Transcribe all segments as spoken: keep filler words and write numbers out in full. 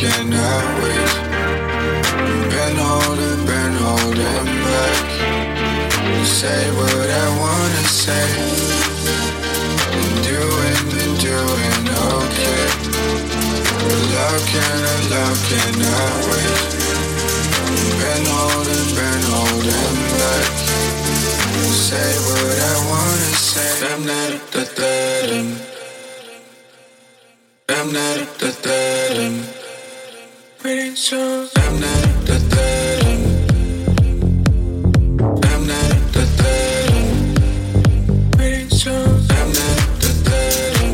cannot wait. Been holding, been holding back. Say what I wanna say. Been doing, been doing okay. Love cannot, love cannot wait. Been holding, been holding back. Say what I wanna say. I'm not the third. I'm not the third. Waiting so. I'm not the third. I'm not the third. Waiting so. I'm not the third.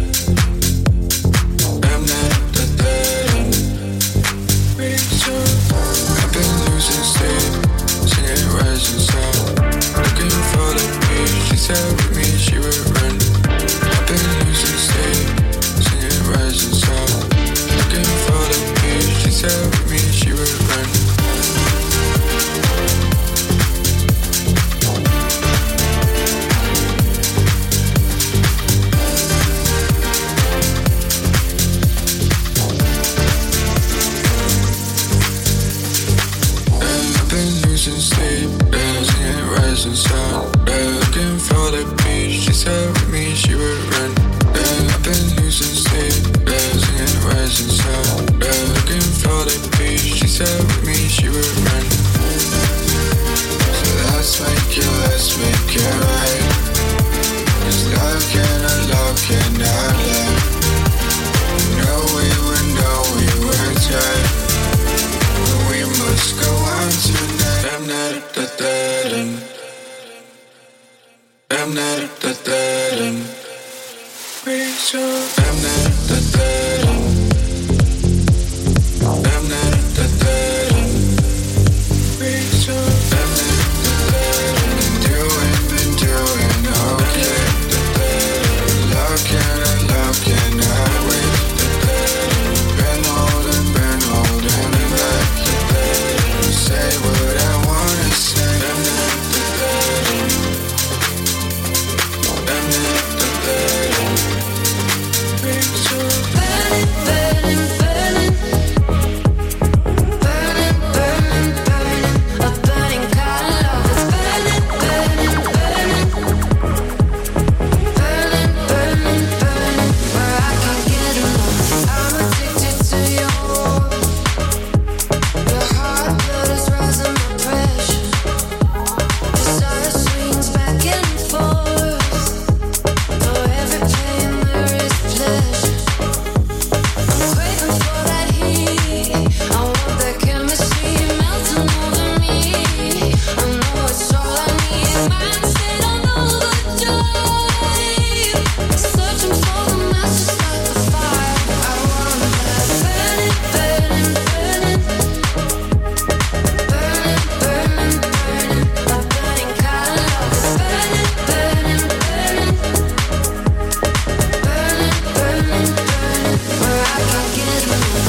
I'm not the third. Waiting so. I've been losing sleep, singing rising sun, looking for the beach. She said with me she would run. I've been losing sleep, singing rising sun, looking for the beach. She said with me she would run. I've been losing sleep, yeah, singing rising sun, yeah, looking for the beach. She said with me she would run. Yeah, I've been losing sleep, yeah, singing rising sun, yeah, looking for the beach. She said with me she would run. So let's make it, let's make it right. 'Cause love cannot, love cannot lie. No, we were, no, we were tight. We must go on tonight. I'm not the third. I'm not the third. Waiting so. I'm not the third. I'm not the third. Waiting so. I'm not the third. Been doing, been doing okay. The third. Love cannot, love cannot wait. The third. Been holding, been holding back. The third. Say what I wanna say. I'm not the third. I'm not the third. Waiting so. Burning, burning, burning. Burning, burning, burning. A burning kind of love. It's burning, burning, burning. Burning, burning, burning. Where I can't get enough. I'm addicted to your warmth. Your heart blood is rising my pressure. Desire swings back and forth. Though every pain there is pleasure. I'm craving for that heat. I want that chemistry melting over me. I know it's all I need. Mindset on overdrive. Searching for the matches like the fire. I want that burning, burning, burning. Burning, burning, burning. A burning kind of love. It's burning, burning, burning. Burning, burning, burning. Where I can't get enough.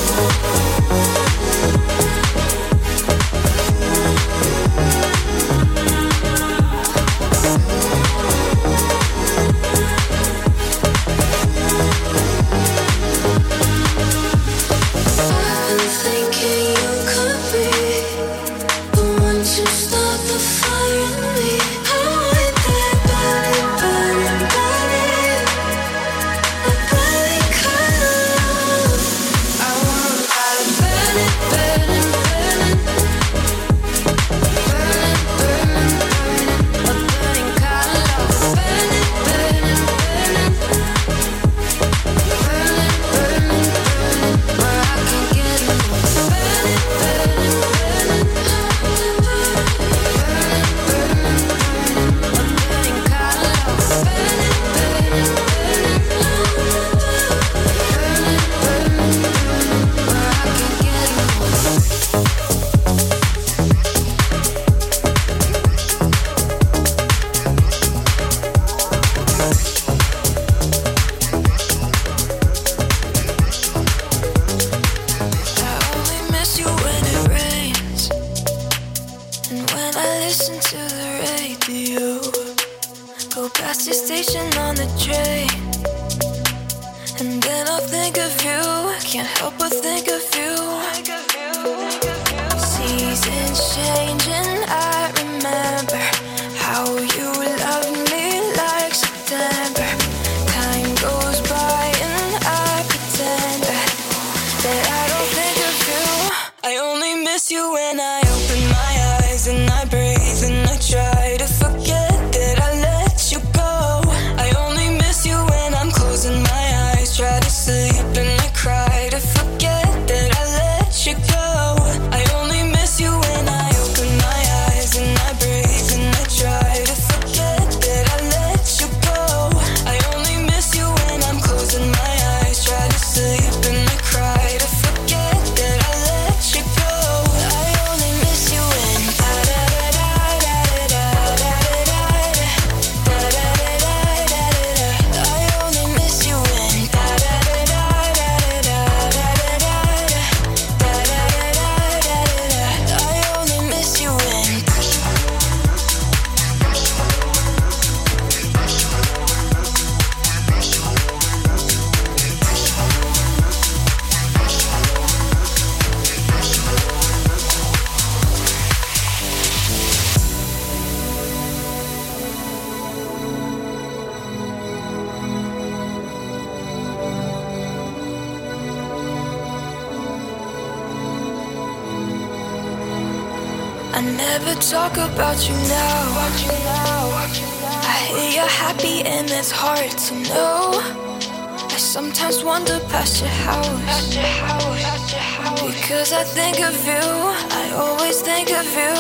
I've been thinking you could be the one to start the fire in me. I want that burning, burning, burning. A burning kind of love. I want that burning, burning, burning. Burning, burning, burning. A burning kind of love. Burning, burning, burning. Burning, burning, burning. Where I can't get enough. Burning, burning, burning. Burning, burning, burning. A burning kind of love. Burning, burning, burning. Burning, burning, burning. Where I can't get enough. I only miss you when it rains, and when I listen to the radio. Go past your station on the train, and then I'll think of you. can't help but think of you. Seasons changing, I remember how you loved me like September. Time goes by and I pretend that, that I don't think of you. I only miss you when I open my eyes and I breathe and I try to forget that I let you go. I only miss you when I'm closing my eyes, try to sleep and I cry to forget that I let you go. I only miss you when I open my eyes and I breathe and I try to forget that I let you go. I only miss you when I'm closing my eyes, try to sleep and I cry to forget that I let you go. I only miss you when da da da da da da da da da da da da da. I only miss you when da da da da da da da da da da da da. I only miss you when. I never talk about you now. I hear you're happy and it's hard to know. I sometimes wander past your house because I think of you. I always think of you.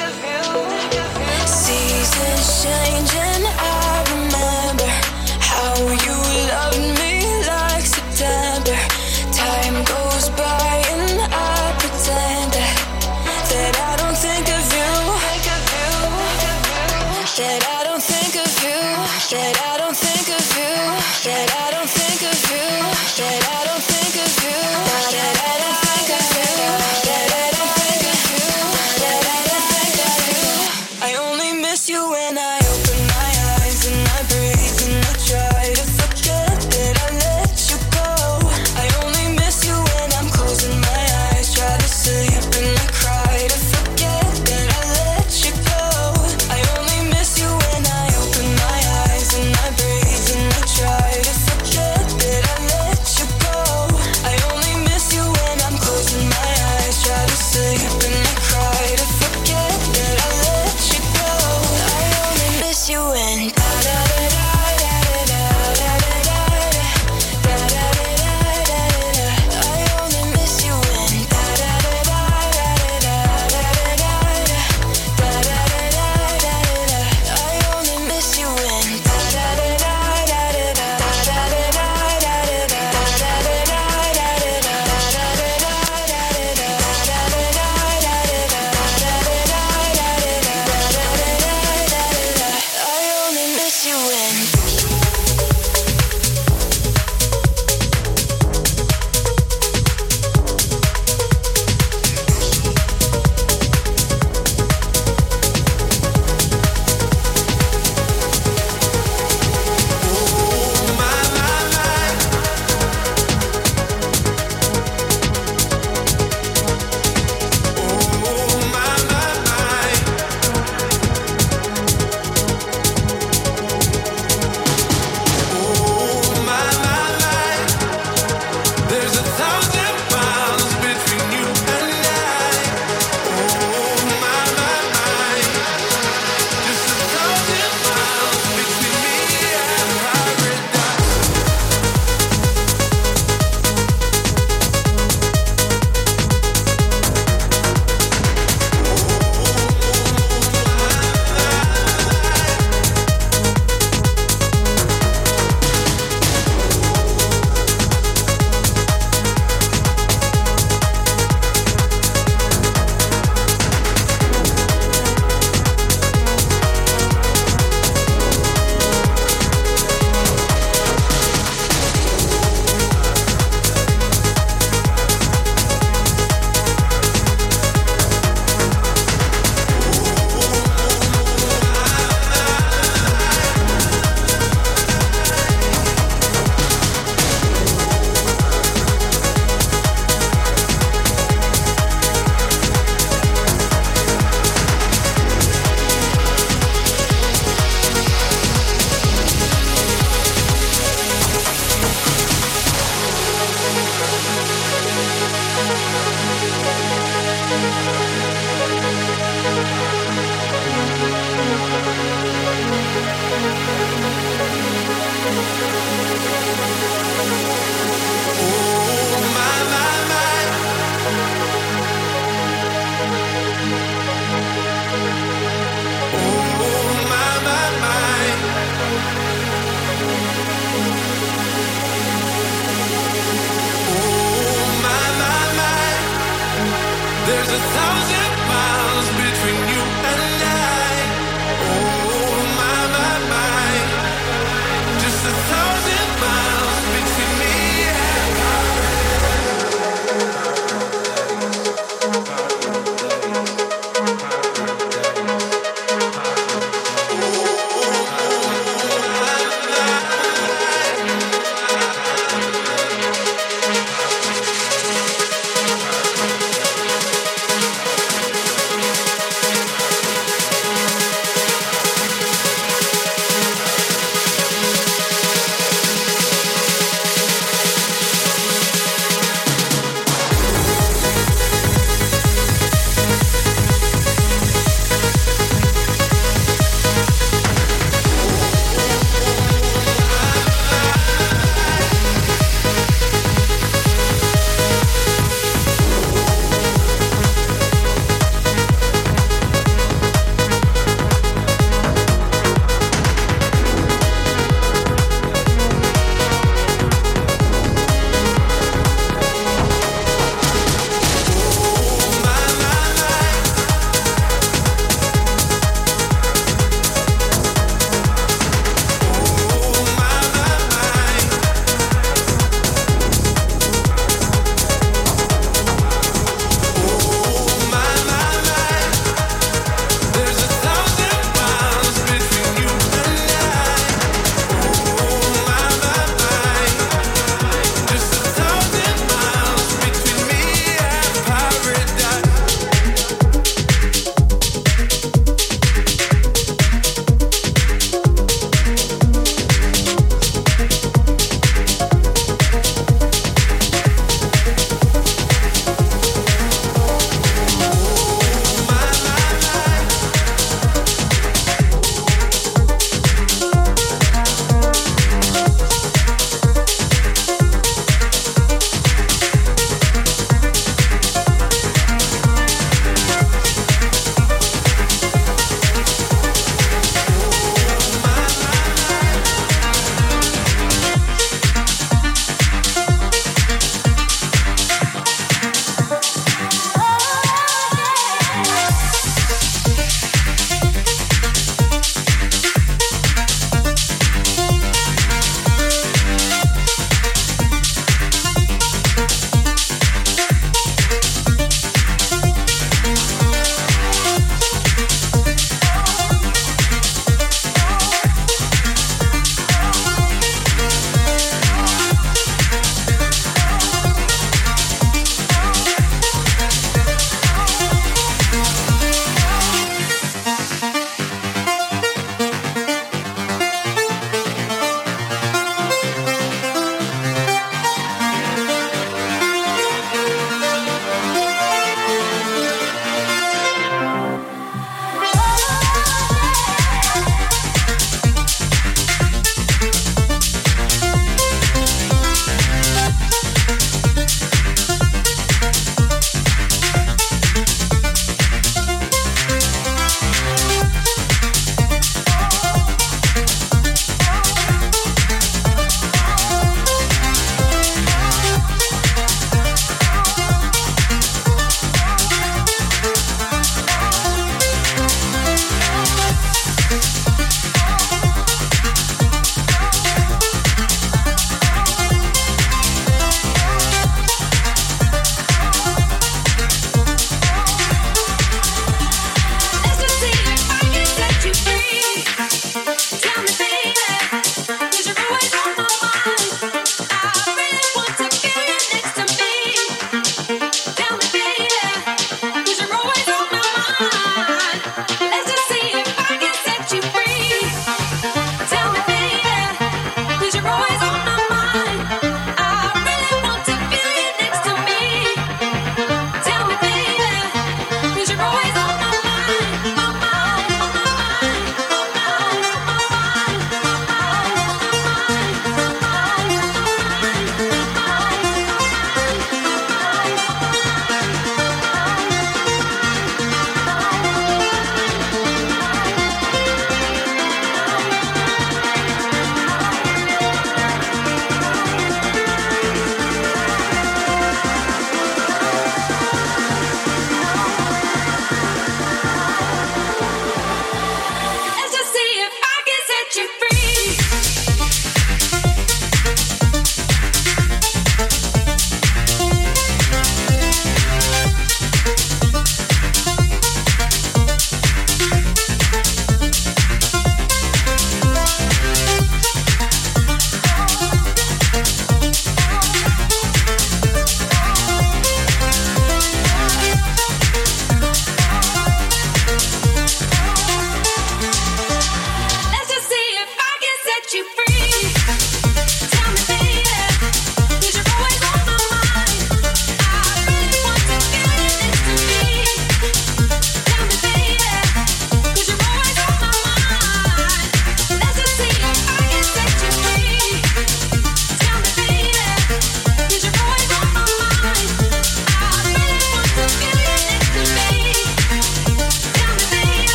Seasons change and I remember how you loved me like September. Time goes by and I pretend that that I don't think of you, that I don't think of you, that I don't think of you, that I don't think of you, that I don't think of you, that I don't think of you, that I don't think of you, that I don't think of you. I only miss you when I open my eyes and I breathe and I try to forget that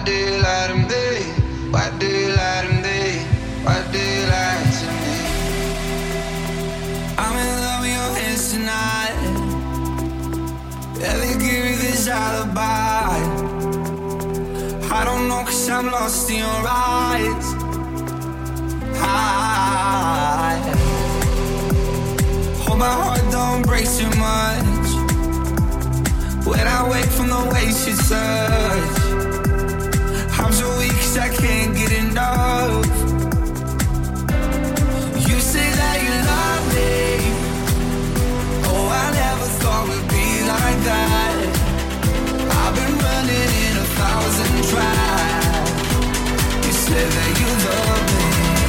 do you lie to me? Why do you lie to me? Why do you lie to me? I'm in love with your hands tonight. Yeah, they give me this alibi. I don't know, cause I'm lost in your eyes. I hope my heart don't break too much when I wake from the ways you touch. I'm so weak cause I can't get enough. You say that you love me. Oh, I never thought we'd be like that. I've been running in a thousand tries. You said that you love me.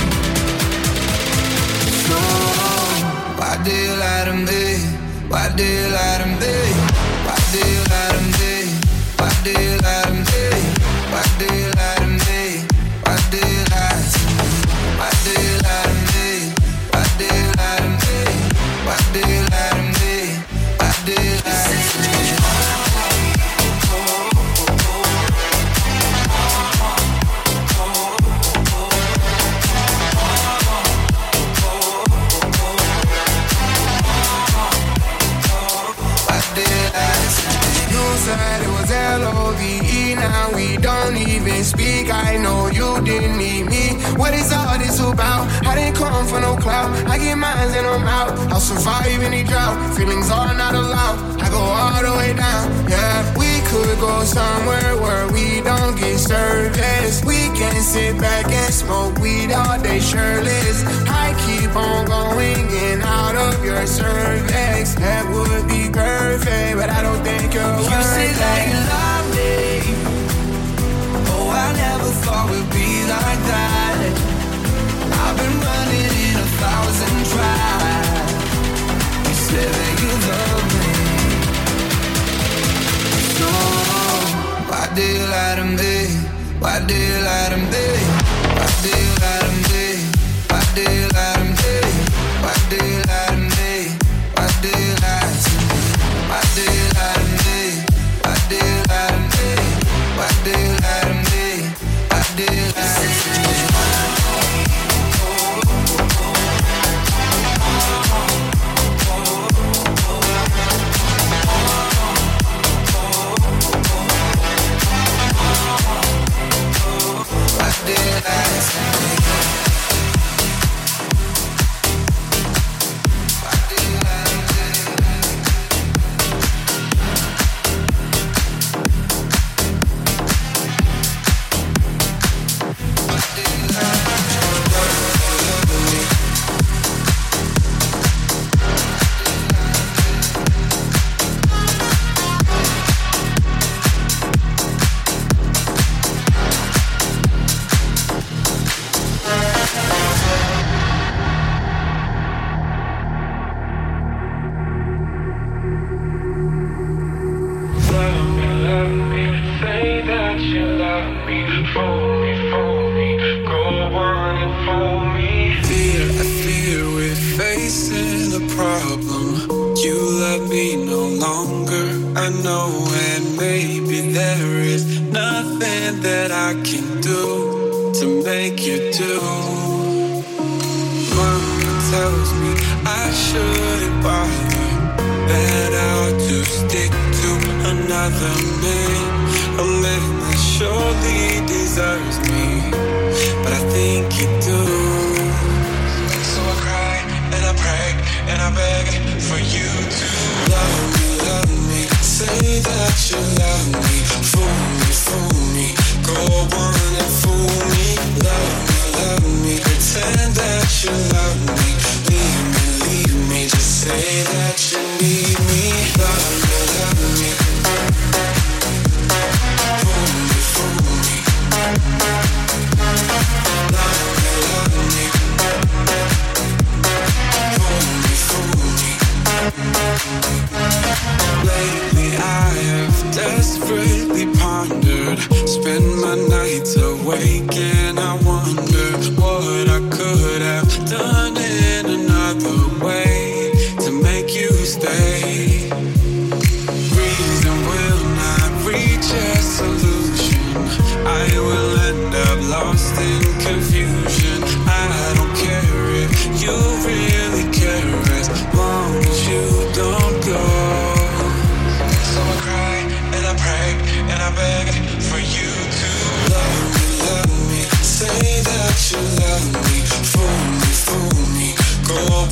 So, why do you lie to me? Why do you lie to me? Why do you lie to me? Why do you lie to me? Why do you lie to me? Why do you lie to me? Why do you lie to me? Why do you lie to me? Why do you lie to me? Why do you lie to me? Said it was L O V E, now we don't even speak. I know you didn't need me. What is all this about? I didn't come for no clout. I get mines and I'm out. I'll survive any drought. Feelings are not allowed. I go all the way down. Yeah, we could go somewhere where we don't get service. We can sit back and smoke weed all day shirtless. I keep on going in out of your cervix. That would be perfect, but I don't think you're You say that you love me. Oh, I never thought we'd be like that. I've been running in a thousand tries. You said that you love me. So, why do you lie to me? Why do you lie to me? Why do you lie to me? Why do you lie to me? Why do you lie to me? Why do you lie to me? Why do you lie to me? Why do you lie to me? Why do you lie to me? Why do you lie to me? Why do you lie to me?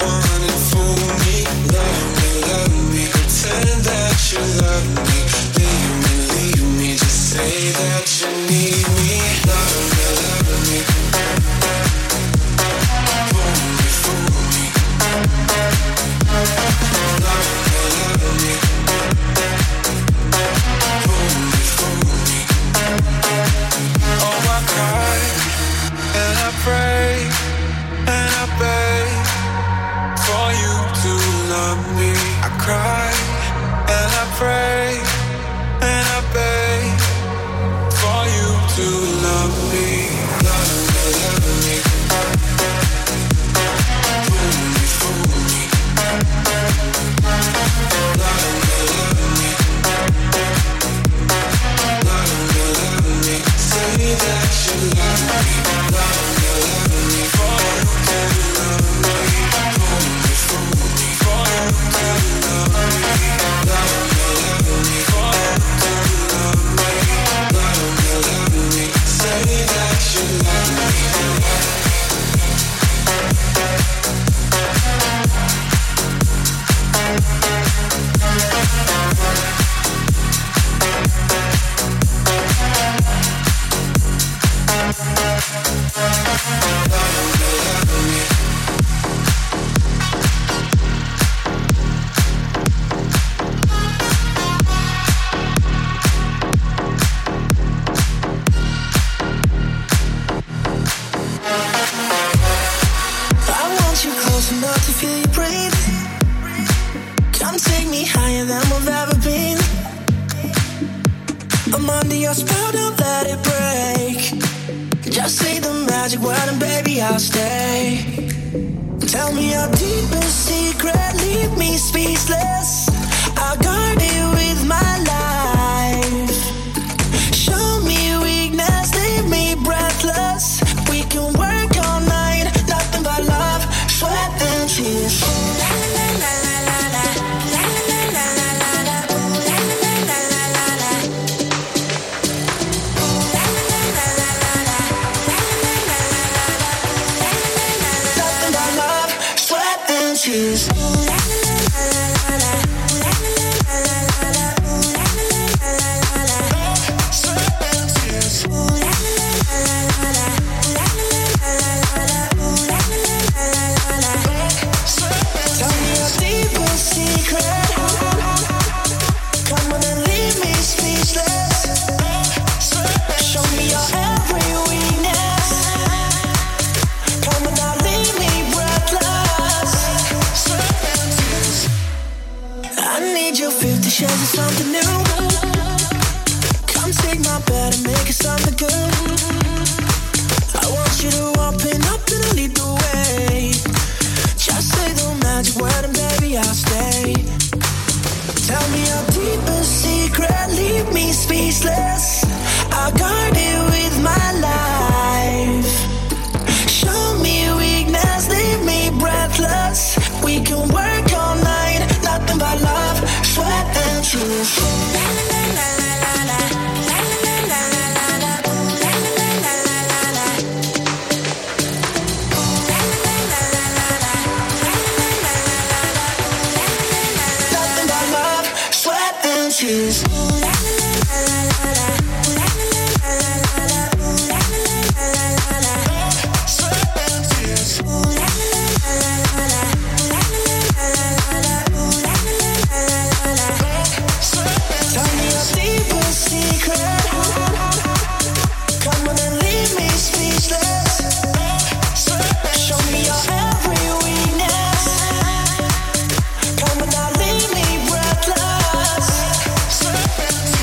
Come on now, leave me breathless.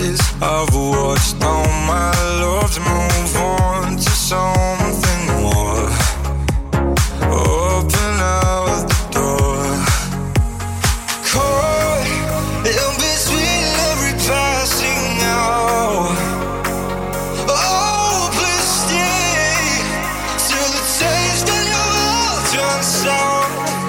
eyes. I've watched all my loves move on to something more. Open out the door. Caught in between every passing hour. Oh, please stay till the taste in your mouth turns sour.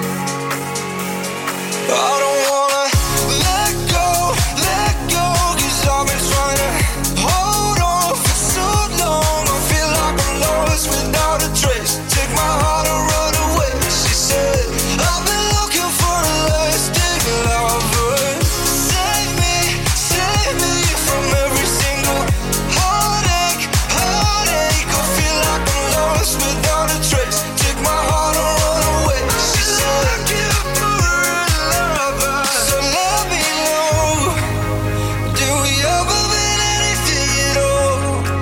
I don't wanna let go, let go, 'cause I've been trying to hold on for so long. I feel like I'm lost without a trace. Take my heart and run away. She said, I've been looking for a lasting lover. Save me, save me from every single heartache, heartache. I feel like I'm lost without a trace. Take my heart and run away. She said, looking for a lover. So let me know, do we ever been anything at all?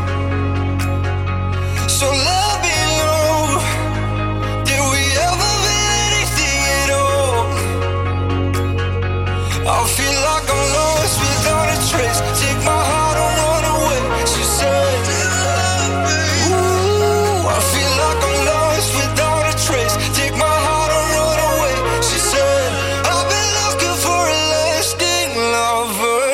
So let me know, did we ever been anything at all? I feel like I'm lost without a trace. Take my heart and run away. She said, ooh, I feel like I'm lost without a trace. Take my heart and run away. She said, I've been looking for a lasting lover.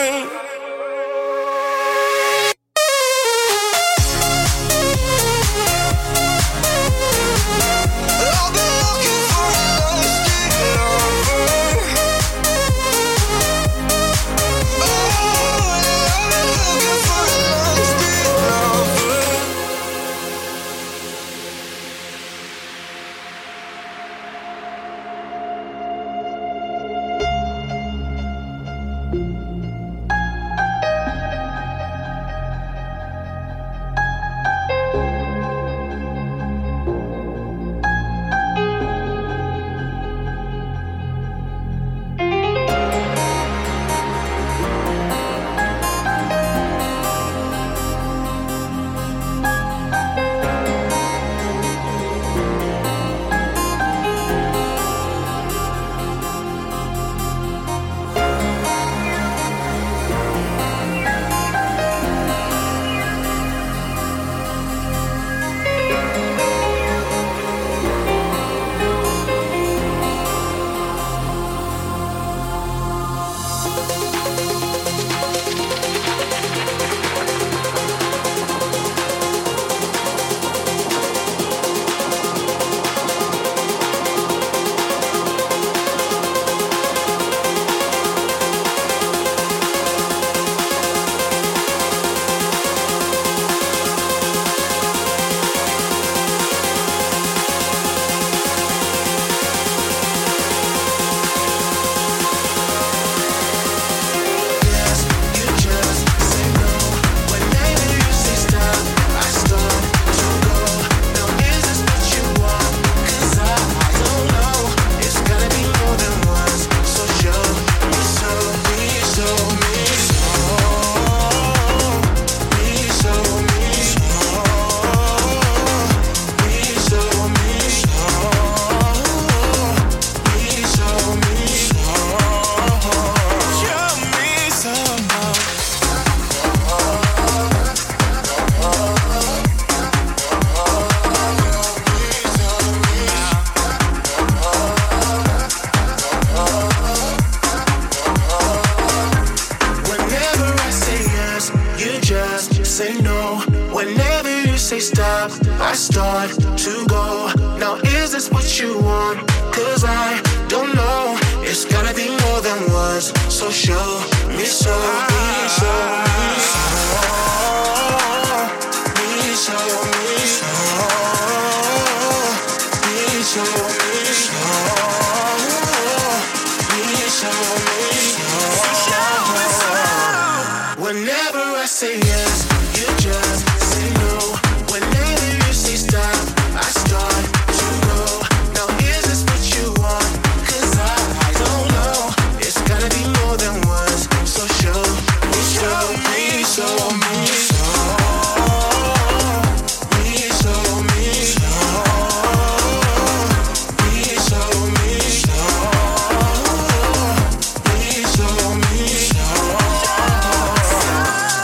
I've been looking for a lasting lover. Oh, I've been looking for a lasting lover. Whenever I say yes, you just say no. Whenever you say stop, I start to go. Now is this what you want? 'Cause I don't know. It's gotta be more than words. So show me so, me so, me so, me so, me so, me so, me so, me so, me so. Whenever I say yes, you just say no. Whenever you say stop, I start to go. Now is this what you want? 'Cause I, I don't know. It's gotta be more than words. So show me, show me, show me, show me, show me, show me, show me, show me, show me, show.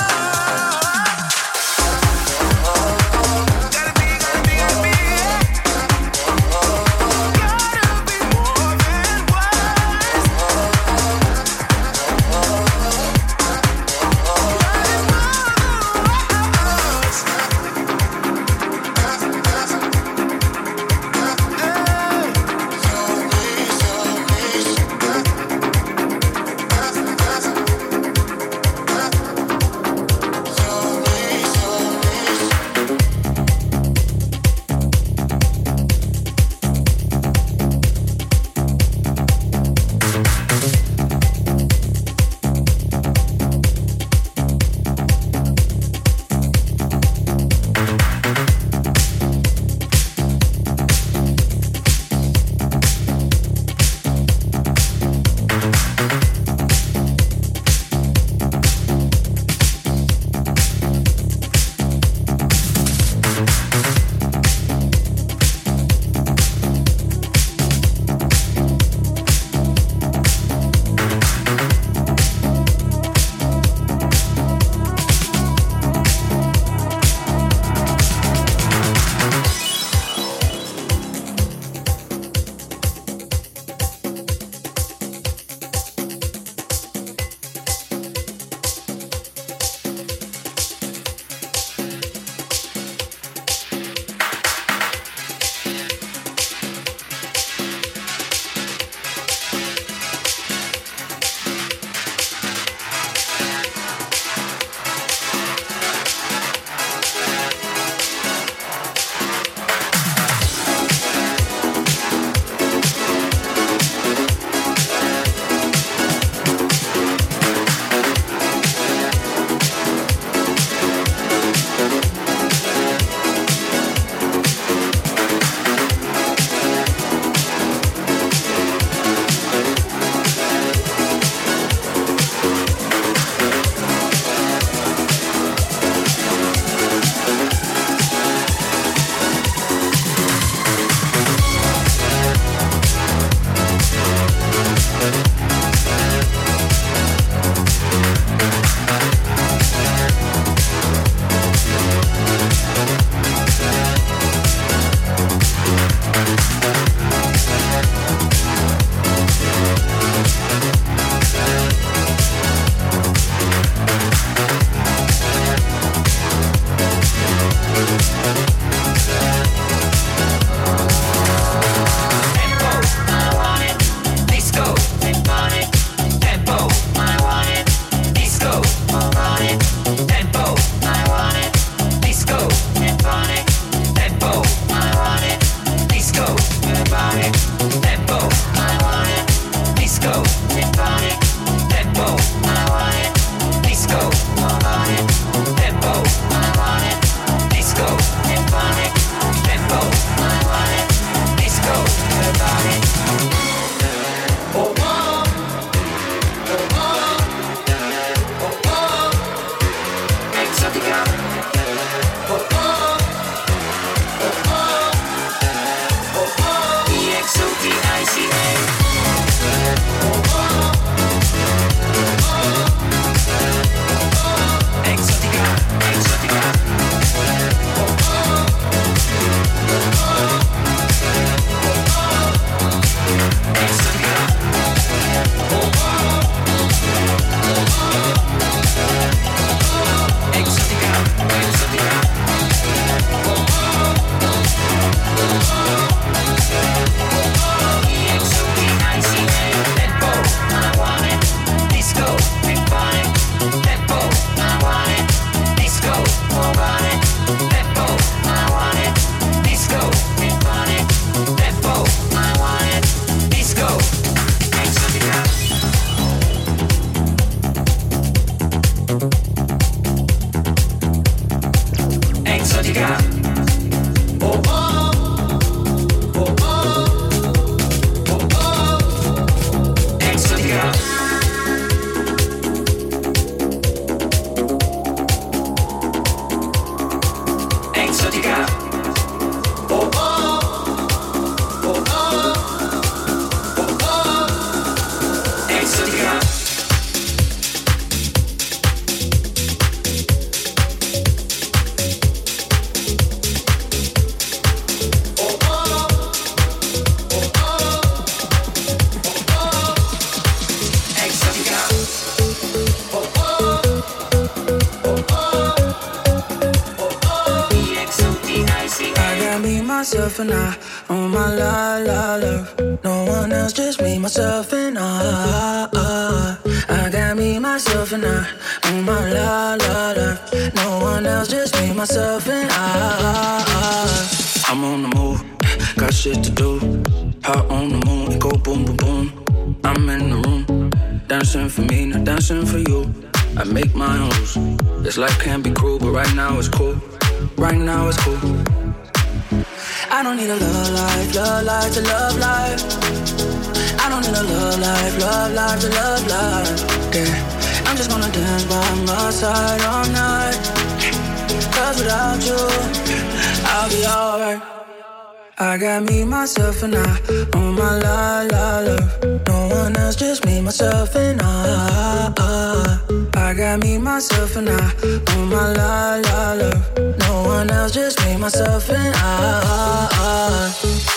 Exotica. Oh oh, oh oh, oh oh, Exotica. Exotica. Oh oh, oh oh, oh oh, Exotica. Myself and I, oh my la la love. No one else, just me, myself and I. I got me, myself and I, oh my la la love. No one else, just me, myself and I. I'm on the move, got shit to do. Hot on the moon, it go boom boom boom. I'm in the room, dancing for me, not dancing for you. I make my own rules. This life can be cruel, but right now it's cool. Right now it's cool. I don't need a love life, love life to love life. I don't need a love life, love life to love life. Yeah, I'm just gonna dance by my side all night. Cause without you, I'll be alright. I got me, myself and I, oh my la la love. No one else, just me, myself and I. I got me, myself and I, oh my la la love. No one else, just me, myself and I.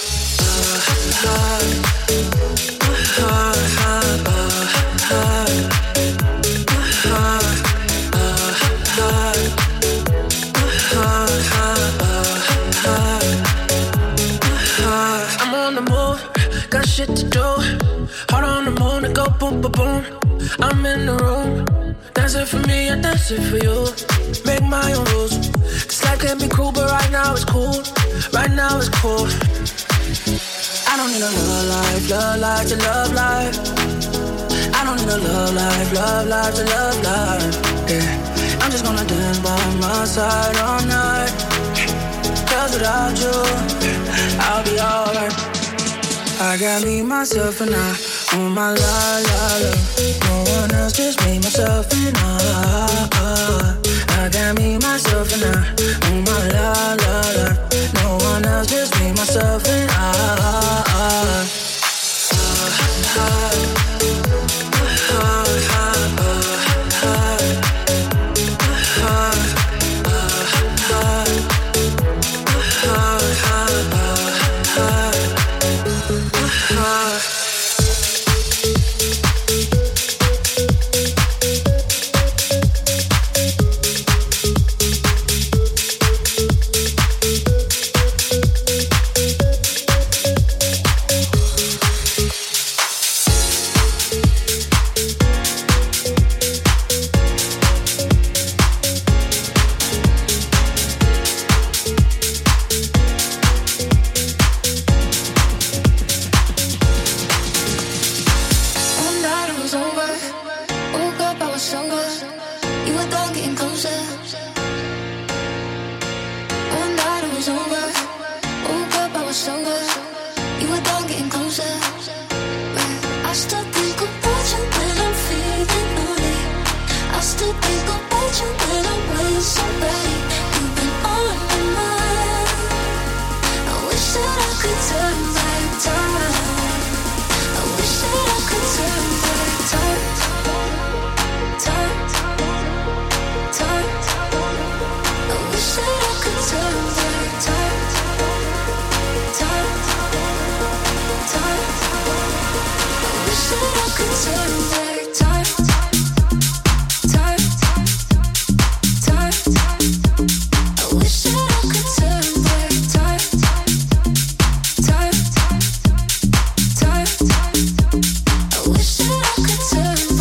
I'm on the move, got shit to do. Heart on the moon, it go boom, boom, boom. I'm in the room, dancing for me, I dance it for you. Make my own rules. This life can be cruel, but right now it's cool. Right now it's cool. I don't need a love life, love life to love life. I don't need a love life, love life to love life. Yeah, I'm just gonna dance by my side all night. Cause without you, I'll be alright. I got me, myself and I, oh my la la la. No one else, just me, myself and I. I got me, myself and I, oh my la la la. No one else, just me, myself and I. Turn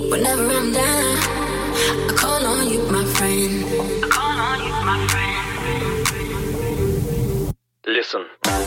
Whenever I'm down, I call on you, my friend. I call on you, my friend. Listen.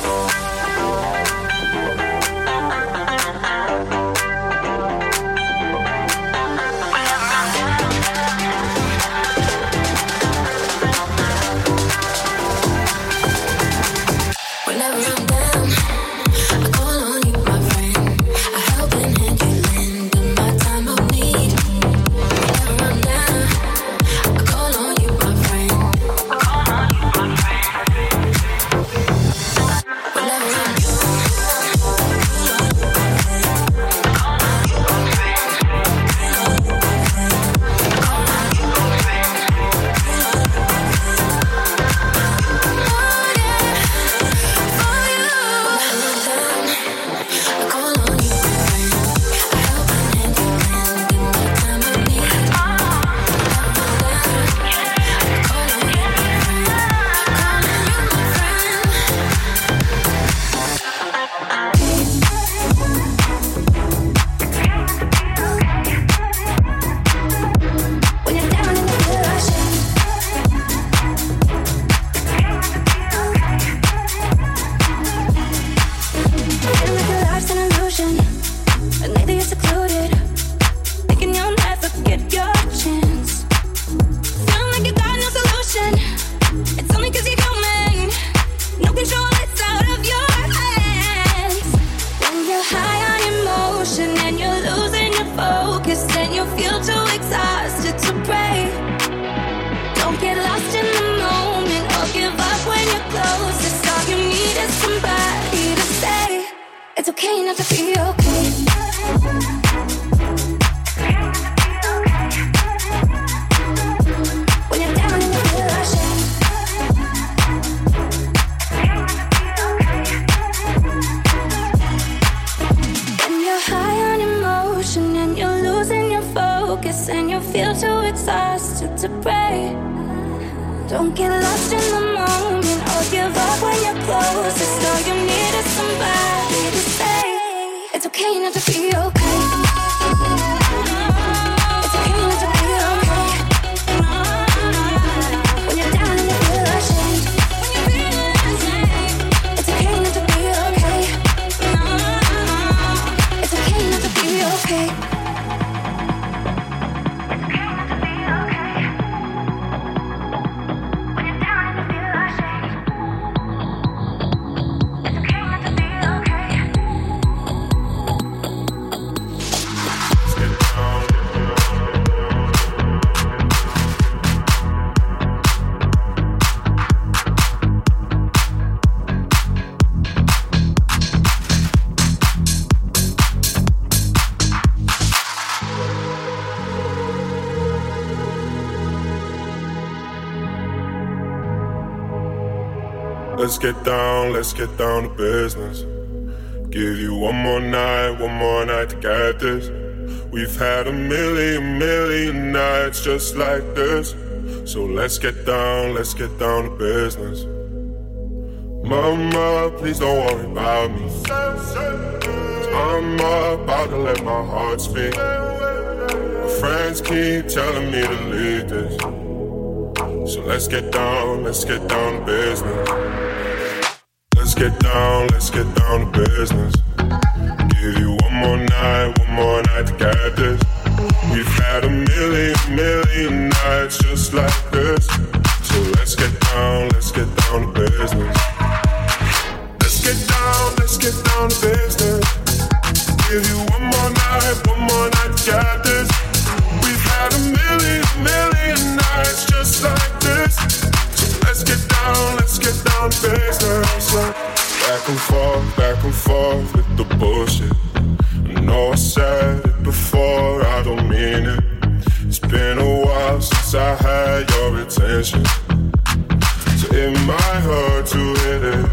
Let's get down, let's get down to business. Give you one more night, one more night to get this. We've had a million, million nights just like this. So let's get down, let's get down to business. Mama, please don't worry about me. I'm about to let my heart speak. My friends keep telling me to leave this. So let's get down, let's get down to business. Let's get down, let's get down to business. Give you one more night, one more night to get this. We've had a million, million nights just like this. So let's get down, let's get down to business. Let's get down, let's get down to business. Give you one more night, one more night to get this. We've had a million, million nights just like this. So let's get down, let's get down to business. Back and forth, back and forth with the bullshit. I know I said it before, I don't mean it. It's been a while since I had your attention, so it might hurt to hit it.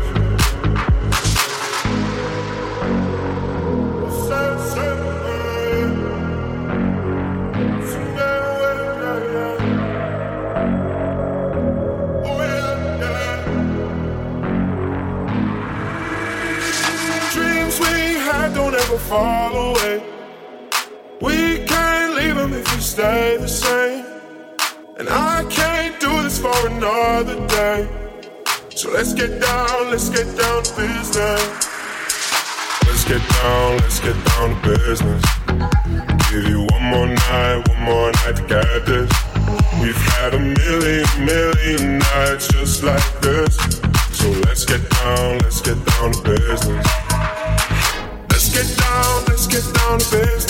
Dreams we had don't ever fall away. We can't leave them am if you stay the same. And I can't do this for another day. So let's get down, let's get down to business. Let's get down, let's get down to business. Give you one more night, one more night to get this. We've had a million, million nights just like this. So let's get down, let's get down to business. Let's get down, let's get down to business.